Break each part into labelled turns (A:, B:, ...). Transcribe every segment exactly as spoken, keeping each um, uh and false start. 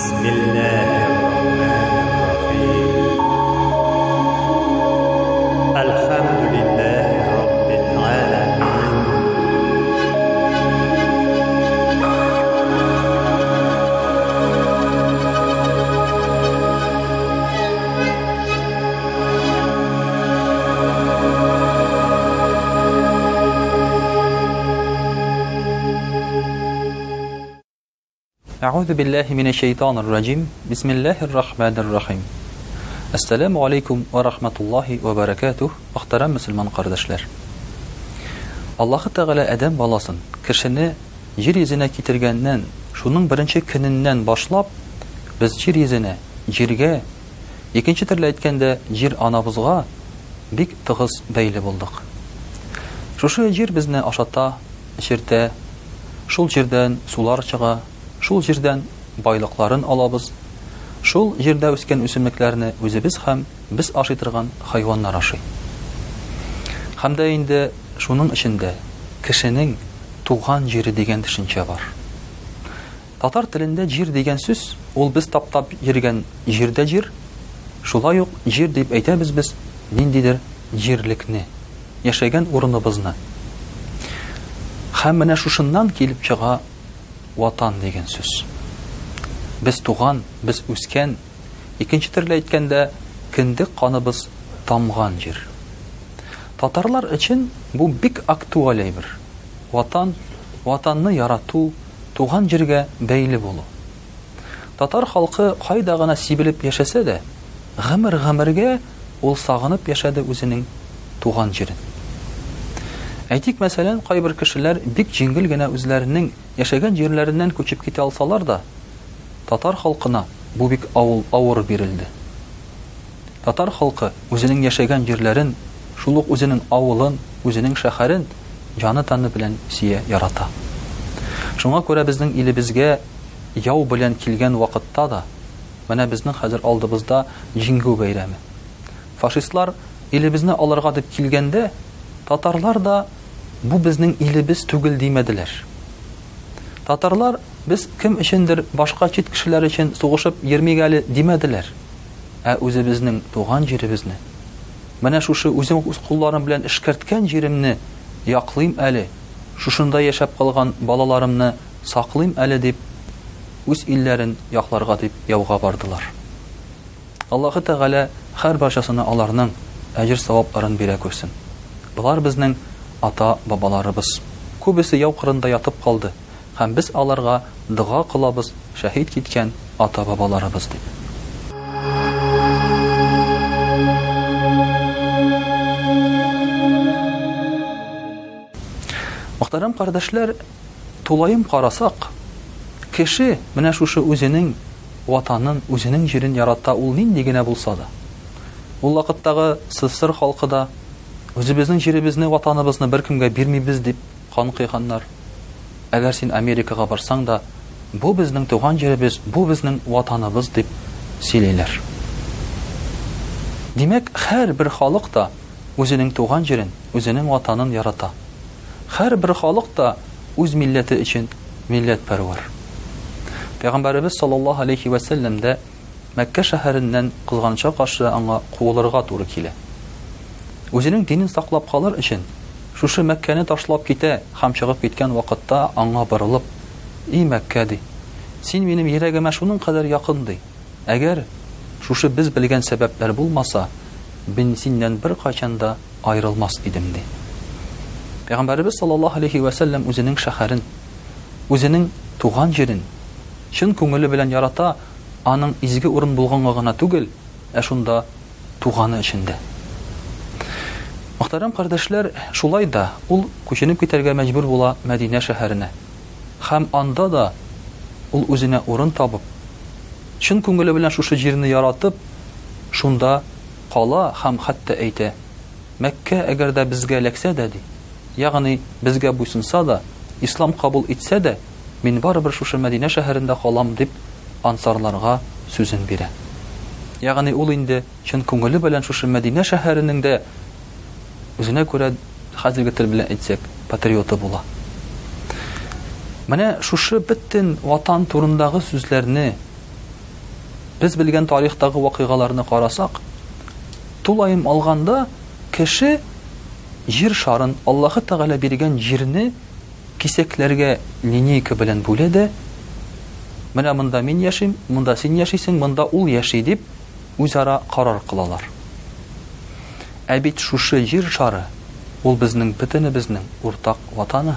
A: بسم الله الرحمن الرحيم الحمد لله رب العالمين
B: أعوذ بالله من الشيطان الرجيم بسم الله الرحمن الرحيم السلام عليكم ورحمة الله وبركاته محترم مسلمان قرداشlar Аллаһы Тәгалә Адәм баласын кешене җир йөзенә китергәннән шуның беренче көненнән башлап без җир йөзенә җиргә икенче төрле әйткәндә җир анабызга бик тыгыз бәйле булдык. Шушы җир безне ашата, эчертә, шул җирдән сулар чыга. Шул җирдән байлыкларын алабыз. Шул җирдә үскән үсемлекләрне үзебез һәм без ашый торган хайваннар ашый. Һәм дә инде шуның эчендә кешенең туган җире дигән төшенчә бар. Татар телендә җир дигән сүз ул без таптап йөргән җирдә җир, шулай ук җир дип әйтәбез без ниндидер җирлекне, яшәгән урыныбызны. Һәм менә шушыннан килеп чыга ватан дигән сүз. Без туган, без үскән, икенче төрле әйткәндә киндек каныбыз тамган җир. Татарлар өчен бу бик актуаль әйбер. Ватан, ватанны ярату, туган җиргә бәйле булу. Татар халкы кайда гына сибелеп яшәсә дә, гомер-гомергә ул сагынып яшәде үзенең туган җирен. Әйтик, мәсәлән, кайбер кешеләр бик җиңел генә үзләренең яшәгән җирләреннән күчеп китә алсалар да, татар халкына бу бик авыр авыр бирелде. Татар халкы үзенең яшәгән җирләрен, шул ук үзенең авылын, үзенең шәһәрен җаны-таны белән сия ярата. Шуңа күрә безнең илебезгә яу белән килгән вакытта да, менә безнең хәзер алдыбызда җиңгү бәйрәме. Фашистлар илебезне алырга дип килгәндә, татарлар да бу безнең илебез түгел димәделәр. Татарлар без кем өчендер башка чит кешеләр өчен сугышып йөрмик әле димәделәр. Ә үзебезнең туган җиребезне, менә шушы үзем үз кулларым белән эшкәрткән җиремне яклыйм әле, шушында яшәп калган балаларымны саклыйм әле дип үз илләрен якларга дип яуга бардылар. Аллаһы Тәгалә һәр барчасына аларның әҗр-савапларын бирә күрсен. Булар безнең ата-бабаларыбыз. Күбесе яу кырында ятып калды. Һәм без аларга дуга кылабыз, шәһид киткән ата-бабаларыбыз дип. Мөхтәрәм кардәшләр, тулаем карасак, кеше менә шушы үзенең ватанын, үзенең җирен ярата ул нинди генә булса да. Ул вакыттагы СССР халкы да үзебезнең җиребезне, ватаныбызны беркемгә бирмибез дип кан кыйганнар. Әгәр син Америкага барсаң да, бу безнең туган җиребез, бу безнең ватаныбыз дип сөйләйләр. Димәк, һәр бер халык та үзенең туган җирен, үзенең ватанын ярата. Һәр бер халык та үз милләте өчен милләтпәрвәр. Пәйгамбәрбез саллаллаһу алейхи ва саллям да Мәккә шәһәреннән кызганча каршы аңа куылырга туры килә. Үзенең динен саклап калыр өчен шушы Мәккәне ташлап китә һәм чыгып киткән вакытта аңа борылып: "И Мәккә ди, син минем йөрәгемә шуның кадәр якын ди. Әгәр шушы без белгән сәбәпләр булмаса, мин синнән бер кайчан да аерылмас идем" ди. Пәйгамбәрбез саллаллаһу алейхи ва саллям үзенең шәһәрен, үзенең туган җирен чын күңеле белән ярата, аның изге урын булганга гына түгел, ә шунда туганы өчендә. Мөхтәрәм кардәшләр, шулай да ул күченеп китәргә мәҗбүр була Мәдинә шәһәренә. Һәм анда да ул үзенә урын табып, чын күңеле белән шушы җирне яратып, шунда кала һәм хәтта әйтә: "Мәккә әгәр дә безгә ләксә дә ди, ягъни безгә буйсынса да, ислам кабул итсә дә, мин барыбер шушы Мәдинә шәһәрендә калам" дип ансарларга сүзен бирә. Ягъни ул инде чын күңеле белән шушы Мәдинә шәһәренең дә үзенә күрә хәзерге тел белән әйтсәк патриоты була. Менә шушы бөтен ватан турындагы сүзләрне Без белгән тарихтагы вакыйгаларны карасак, тулайым алганда кеше җир шарын, Аллаһы Тәгалә биргән җирне кисәкләргә линейка белән бүлә дә, менә монда мин яшим, монда син яшисең, монда ул яши дип үзара карар кылалар. Ә бит шушы җир шары ул безнең бөтенебезнең уртак ватаны.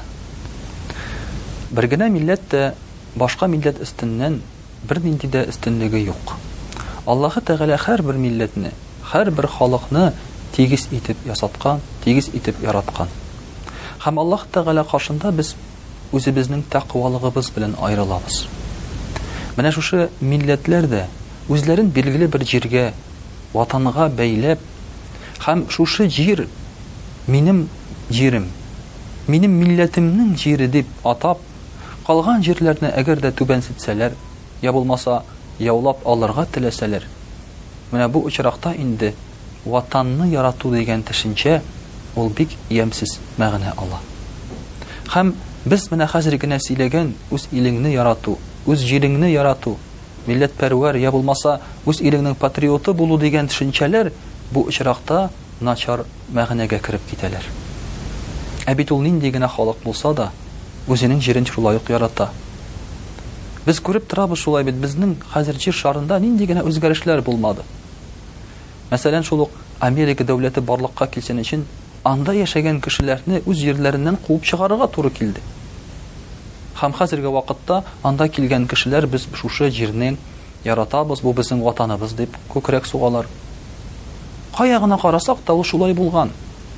B: Бер генә милләт тә башка милләт өстеннән бер нинди дә өстенлеге юк. Аллаһы Тәгалә һәрбер милләтне, һәрбер халыкны тигез итеп ясаткан, тигез итеп яраткан. Һәм Аллаһ Тәгалә каршында без үзебезнең тәкъвалыгыбыз белән аерылабыз. Менә шушы милләтләр дә үзләрен билгеле бер җиргә, ватанга бәйләп, һәм шушы җир минем җирем, минем милләтемнең җире дип атап, калган җирләрне әгәр дә түбәнсетсәләр, я булмаса яулап алырга теләсәләр, менә бу очракта инде ватанны ярату дигән төшенчә ул бик ямсыз мәгънә ала. Һәм без менә хәзер генә сөйләгән үз илеңне ярату, үз җиреңне ярату, милләтпәрвәр я булмаса үз илеңнең патриоты булу дигән төшенчәләр бу очракта начар мәгънәгә кереп китәләр. Ә бит ул нинди генә халык булса да үзенең җирен шулай ук ярата. Без күреп торабыз шулай бит, безнең хәзер җир шарында нинди генә үзгәрешләр булмады. Мәсәлән, шул ук Америка дәүләте барлыкка килсен өчен анда яшәгән кешеләрне үз җирләреннән куып чыгарырга туры килде. Һәм хәзерге вакытта анда килгән кешеләр без шушы җирне яратабыз, бу безнең ватаныбыз дип күкрәк сугалар. Кая гына карасак та ул шулай булган.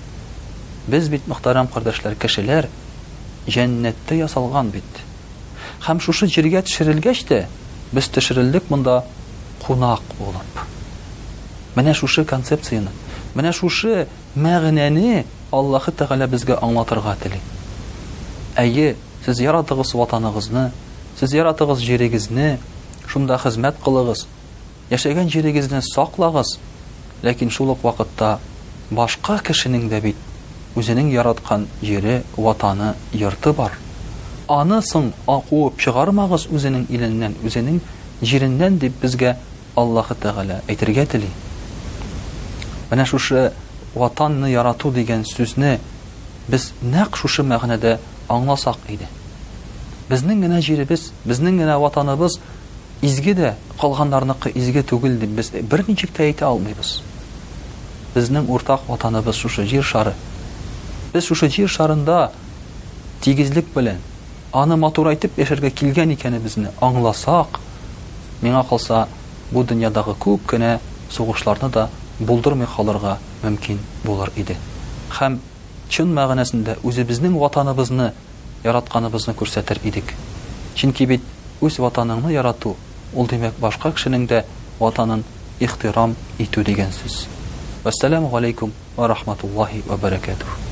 B: Без бит, мөхтәрәм кардәшләр, кешеләр җәннәттә ясалган бит. Һәм шушы җиргә төшерелгәч тә без төшерелдек монда кунак булып. Менә шушы концепцияны, менә шушы мәгънәне Аллаһы Тәгалә безгә аңлатырга тели. Әйе, сез яратыгыз ватаныгызны, сез яратыгыз җирегезне, шунда хезмәт кылыгыз, яшәгән җирегезне саклагыз, ләкин шул ук вакытта башка кешенең дә бит үзенең яраткан җире, ватаны, йорты бар. Аны соң куып чыгармагыз үзенең иленнән, үзенең җиреннән дип безгә Аллаһы Тәгалә әйтергә тели. Менә шушы ватанны ярату дигән сүзне без нәкъ шушы мәгънәдә аңласак иде. Безнең генә җиребез, безнең генә ватаныбыз изге дә, калганнарныкы изге түгел дип без берничек тә әйтә алмыйбыз. Безнең уртак ватаныбыз шушы җир шары. Без шушы җир шарында тигезлек белән аны матурайтып яшәргә килгән икәнебезне аңласак, миңа калса бу дөньядагы күп кенә сугышларны да булдырмый калырга мөмкин булыр иде. Һәм чын мәгънәсендә үзебезнең ватаныбызны яратканыбызны күрсәтер идек. Чөнки бит үз ватаныңны ярату, ул димәк башка кешенең дә ватанын ихтирам итү дигән сүз. Ассаламу алейкум ва рахматуллаһи ва баракатуһ.